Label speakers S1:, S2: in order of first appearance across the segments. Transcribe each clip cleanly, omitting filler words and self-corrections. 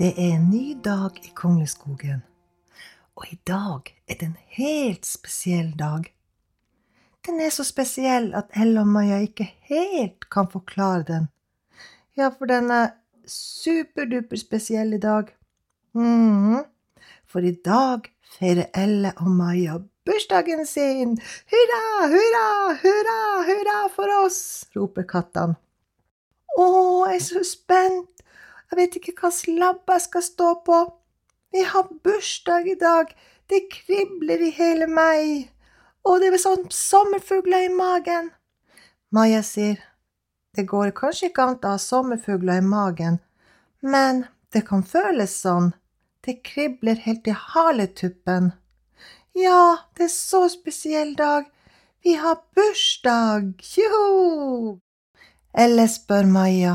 S1: Det en ny dag i Kongleskogen, og i dag det en helt spesiell dag. Den så spesiell at Ella og Maja ikke helt kan forklare den. Ja, for den superduper spesiell i dag. For i dag feirer Ella og Maja bursdagen sin. Hurra, hurra, hurra, hurra for oss, roper kattene. Jeg så spent. Jeg vet ikke hva slabb jeg skal stå på. Vi har bursdag i dag. Det kribler i hele meg. Og det sånn sommerfugler i magen. Maja sier, det går kanskje ikke an å ha sommerfugler i magen, men det kan føles sånn. Det kribler helt i haletuppen. Ja, det så spesiell dag. Vi har bursdag. Joho! Eller spør Maja,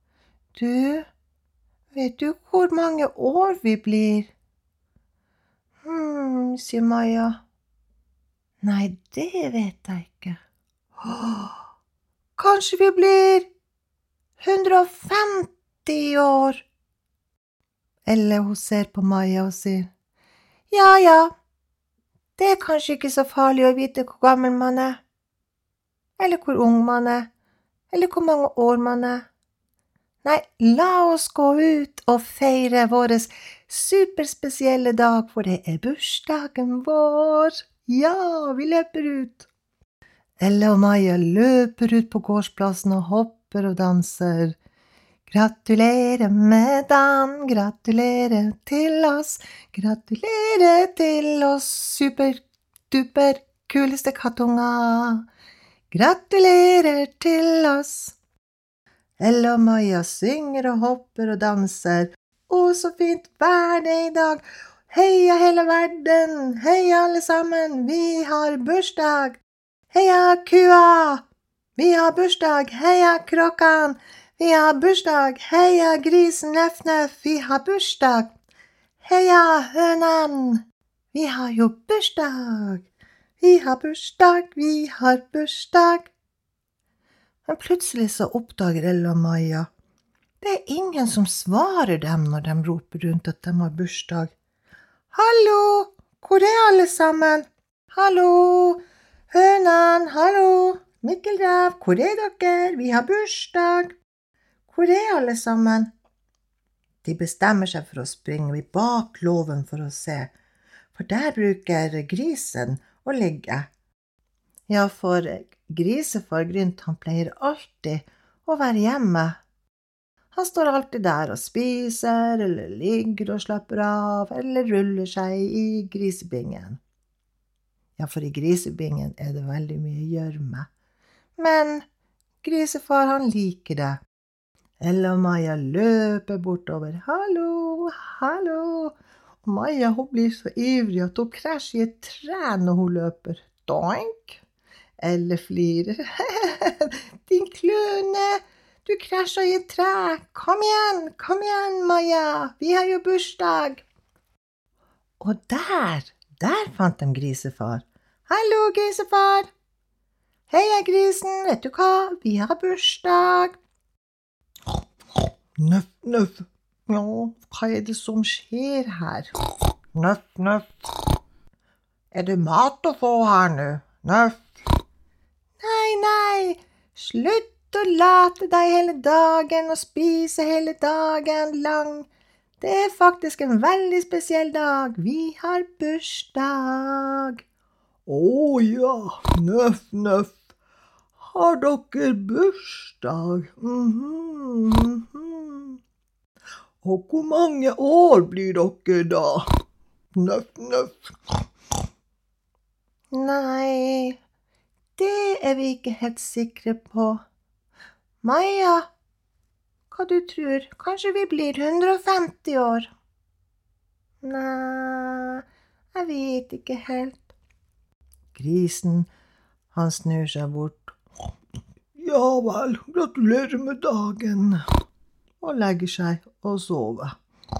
S1: vet du hvor mange år vi blir? Sier Maja. Nei, det vet jeg ikke. Kanskje vi blir 150 år? Eller hun ser på Maja og sier, ja, det kanskje ikke så farlig å vite hvor gammel man eller hvor ung man eller hvor mange år man Nei, la oss gå ut og feire vår superspesielle dag, for det bursdagen vår. Ja, vi løper ut. Ella og Maja løper ut på gårdsplassen og hopper og danser. Gratulerer med dagen, gratulerer til oss, superduper kuleste kattunger. Gratulerer til oss. Ella og Maja synger og hopper og danser. Så fint vær det i dag. Heia hele verden, heia alle sammen, vi har bursdag. Heia kua, vi har bursdag, heia kråkan, vi har bursdag, heia grisen Nøff Nøff, vi har bursdag. Heia hønen, vi har jo bursdag. Vi har bursdag, vi har bursdag. Men plutselig så oppdager Ella og Maja. Det ingen som svarer dem når de roper rundt at de har bursdag. Hallo, hvor alle sammen? Hallo, hønen, hallo, Mikkelrev, hvor dere? Vi har bursdag. Hvor alle sammen? De bestemmer seg for å springe bak låven for å se, for der bruker grisen å ligge. Ja, for grisefar Grynt, han pleier alltid å være hjemme. Han står alltid der og spiser, eller ligger og slapper av, eller ruller seg i grisebingen. Ja, for i grisebingen det veldig mye gjørme. Men grisefar, han liker det. Ella og Maja løper bortover. Hallo, hallo. Og Maja, hun blir så ivrig at hun krasjer i et tre når hun løper. Doink! Eller flirer. Din kløne, du krasjer i et tre. Kom igjen, Maja. Vi har jo bursdag. Og der fant de grisefar. Hallo, grisefar. Heia grisen, vet du hva? Vi har bursdag. Nøff, nøff. Ja, hva det som skjer her? Nøff, nøff. Det mat å få her nå? Nøff. Nei, slutt å late deg hele dagen og spise hele dagen lang. Det faktisk en veldig spesiell dag. Vi har bursdag. Ja, nøff, nøff. Har dere bursdag? Og hvor mange år blir dere da? Nøff, nøff. Nei, det vi ikke helt sikre på. Maja, hva du tror? Kanskje vi blir 150 år? Nei, jeg vet ikke helt. Grisen, han snur seg bort. Ja vel, gratulerer med dagen. Og legger seg og sover.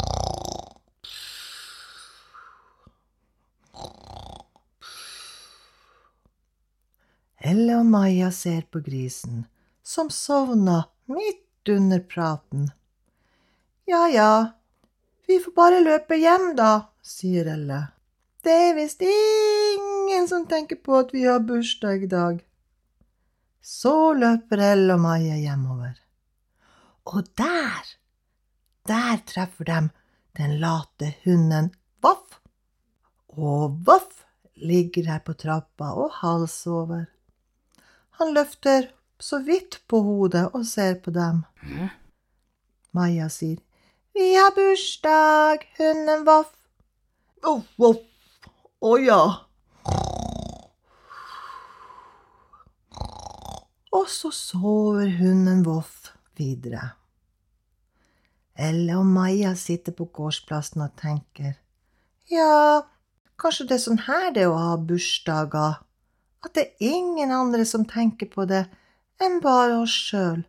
S1: Ella og Maja ser på grisen, som sovna midt under praten. Ja, Vi får bare løpe hjem da, sier Elle. Det er visst ingen som tenker på at vi har bursdag i dag. Så løper Elle og Maja hjemover. Og der treffer de den late hunden Voff. Og Voff ligger her på trappa og halsover. Han løfter så vidt på hodet og ser på dem. Maja sier, vi har bursdag, hunden Voff. Voff, voff. Å ja. Og så sover hunden Voff videre. Elle og Maja sitter på gårdsplassen og tenker, ja, kanskje det er sånn her det å ha bursdager, at det er ingen andre som tenker på det enn bare oss selv.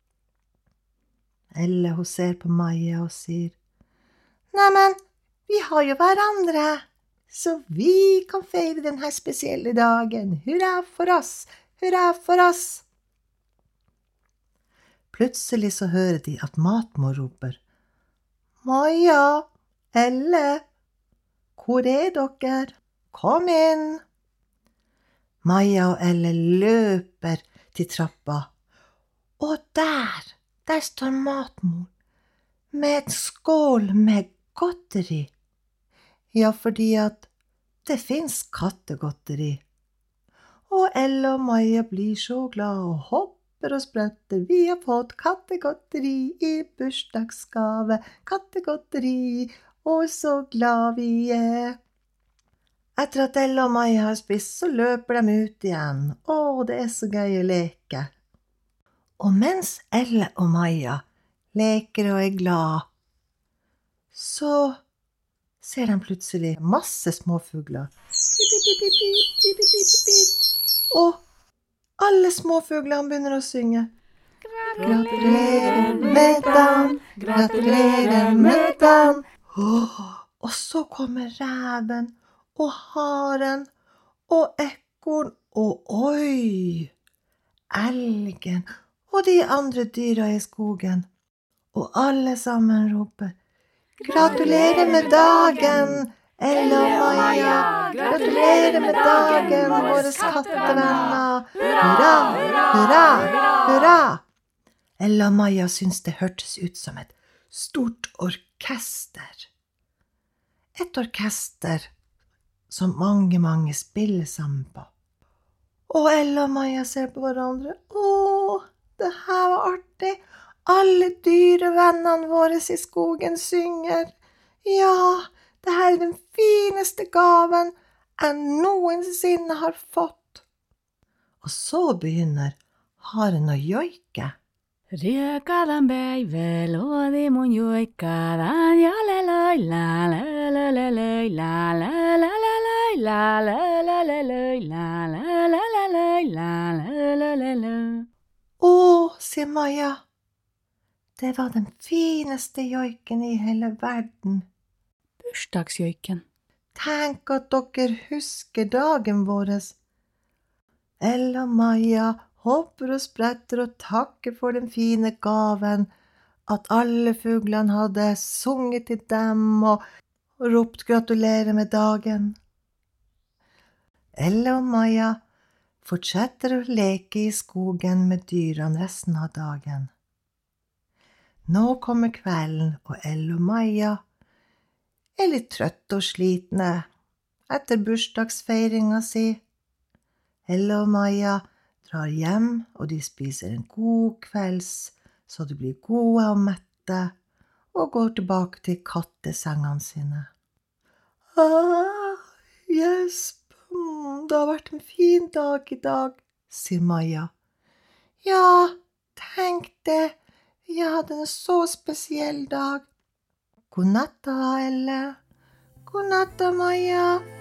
S1: Elle hun ser på Maja og sier, neimen, vi har jo hverandre, så vi kan feire denne spesielle dagen. Hurra for oss, hurra for oss. Plutselig så hører de at matmor roper, Maja, Elle, hvor er dere? Kom inn. Maja og Elle løper til trappa, og der står matmor med et skål med godteri. Ja, fordi at det finnes kattegodteri. Og Elle og Maja blir så glad og hopper og spretter. Vi har fått kattegodteri i bursdagsgave, kattegodteri, og så glad vi er. Etter at Elle og Maja har spist, så løper de ut igjen. Å, det er så gøy å leke. Og mens Elle og Maja leker og er glad, så ser de plutselig masse småfugler. Pip, pip, pip, pip, pip, pip, pip, pip. Og alle småfuglene begynner å synge. Gratulerer med dagen, gratulerer med dagen. Og så kommer reven og haren og ekorn og oi, elgen og de andre dyra i skogen. Og alle sammen roper, gratulerer med dagen, Elle og Maja, gratulerer med dagen, våre kattevenner. Hurra, hurra, hurra. Elle og Maja syntes det hørtes ut som et stort orkester. Et orkester som mange spiller sammen på. Og Elle og Maja ser på hverandre. Å, det her var artig. Alle dyrevennene våre i skogen synger. Ja, det her er den fineste gaven jeg noensinne har fått. Og så begynner haren å joike.
S2: Riekadan päivällä luodi mun joikkadan ja leloi la la la la la la la la la la la la la la la la la.
S1: Å, sier Maja, det var den fineste joiken i hele verden.
S2: Bursdagsjoiken.
S1: Tenk at dere husker dagen vår. Elle og Maja hopper og spretter og takker for den fine gaven, at alle fuglene hadde sunget til dem og ropt gratulerer med dagen. Elle og Maja fortsetter å leke i skogen med dyrene resten av dagen. Nå kommer kvelden, og Elle og Maja er litt trøtte og slitne etter bursdagsfeiringa si. Elle og Maja drar hjem, og de spiser en god kvelds, så de blir gode og mette, og går tilbake til kattesengene sine. Gjesp, det har vært en fin dag i dag, sier Maja. Ja, tenk det, vi hadde en så spesiell dag. God natt da, Elle. God natt da, Maja.